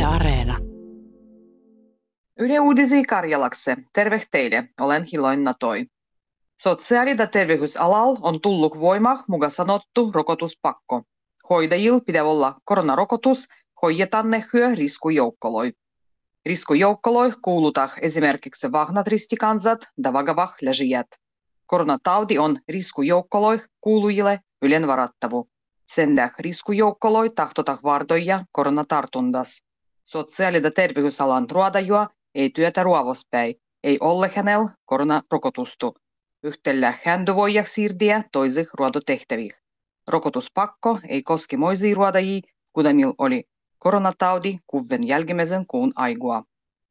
Yle Areena. Yle Uudisi Karjalakse. Terve teille, olen Hiloina Toi. Sosiaali- ja terveysalalla on tullut voimaan mukaan sanottu rokotuspakko. Hoidajilla pitää olla koronarokotus, hoidetaan ne hyö riskujoukoloi. Riskujoukoloi kuulutaan esimerkiksi vahnat ristikansat ja vakavah läжijät. Koronatauti on riskujoukoloi kuulujille ylen varattavu. Sen tähden riskujoukoloi tahtotaan vartoja koronatartundas. Sosiaali- ja terveysalan ruodajua ei työtä ruovospäin, ei ole hänellä koronarokotustu. Yhtellä hän voi siirtyä toisih ruodotehtäviin. Rokotuspakko ei koski moisia ruodajia, kuten millä oli koronataudi kuven jälkimmäisen kuun aigua.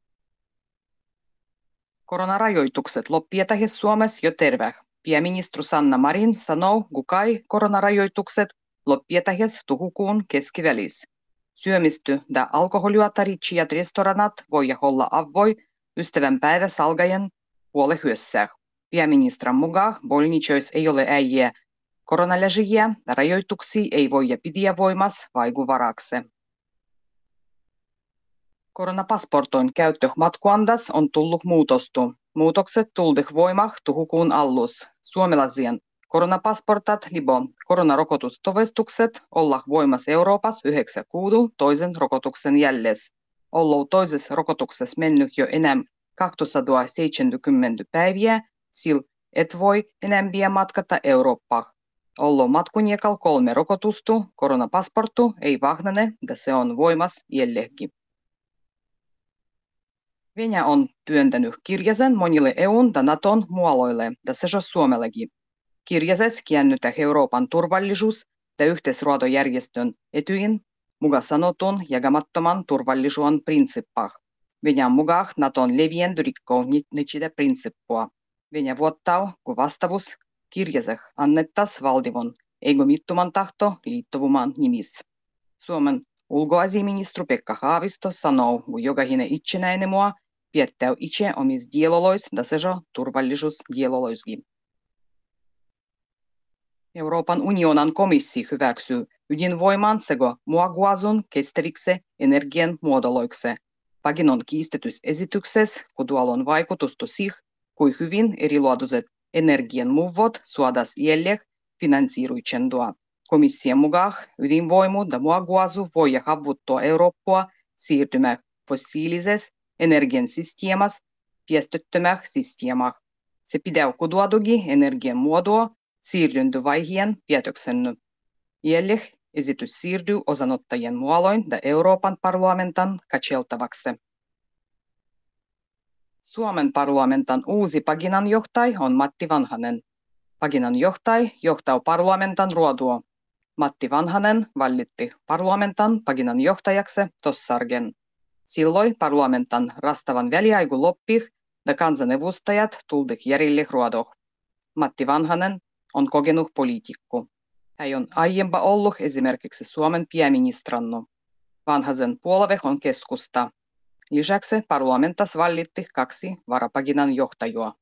Koronarajoitukset loppietahe Suomessa jo terve. Pääministeri Sanna Marin sanoo, kukai koronarajoitukset loppietahes tuhukuun keskivälis. Syömisty ja alkoholiuotaritsijat restoranat voi olla avvoi ystävänpäivä salgajen puolehyössä. Pääministerin mukaan bolničois ei ole äijä koronaläžijiä ja rajoituksia ei voi pidä voimassa vaikuvarakse. Koronapasportoin käyttö matkuandas on tullut muutostu. Muutokset tuldih voimah tuhukuun allus. Suomalaisien koronapasportat libo koronarokotustovestukset olla voimassa Euroopassa 9 kuudu toisen rokotuksen jälles. Ollu toisessa rokotuksessa mennyt jo enää 270 päiviä, sil et voi enempää matkata Eurooppaan. Ollu matkuniekal 3 rokotustu, koronapasporttu ei vahnane, ja se on voimassa jällekin. Venäjä on työntänyt kirjasen monille EUn ja Naton mualoille, ja se on Suomellekin. Kirjasessa käännytään Euroopan turvallisuus- ja yhteisruotojärjestön Etyjin mukaan sanotun jakamattoman turvallisuuden prinsippah. Venäjän mukaan Naton levienty rikkoo niitä prinsippua. Venäjä vuottaa, kun vastavuus kirjaseh annettas valtivon egomittoman tahto liittovuman nimissä. Suomen ulkoasiaministeri Pekka Haavisto sanoo, kun jokainen itsenäinen maa piettää itse omissa dielolois ja se on turvallisuusdieloloiskin. Euroopan unionin komissio hyväksyy ydinvoiman sekä muoguasun kestäviksi energian muodoloiksi. Paginon kiistetysesityksessä kutualon vaikutusta siihen, kuin hyvin erilaatuiset energian muovot suodas jäljek finansiiruitsentua. Komission mukaan ydinvoimu ja muoguasu voi havuttua Eurooppaa siirtymään fossiilisesta energian systeemasta päästöttömään systeemään. Se pitää kuduadugi energian muodoa siirtyntövaiheen päätöksen. Jäljek esitys siirtyy osanottajien muoloin ja Euroopan parlamentan katseltavaksi. Suomen parlamentan uusi paginanjohtaja on Matti Vanhanen. Paginanjohtaja johtaa parlamentan ruodua. Matti Vanhanen valitti parlamentan paginanjohtajaksi tossargen. Silloin parlamentan rastavan väliaiku loppih ja kansanedustajat tuldih järille ruodoh. Matti Vanhanen on kokenut poliitikko. Hän on aiempa ollut esimerkiksi Suomen pääministranno. Vanhasen puolue on keskusta. Lisäksi parlamentas valitti 2 varapaginan johtajaa.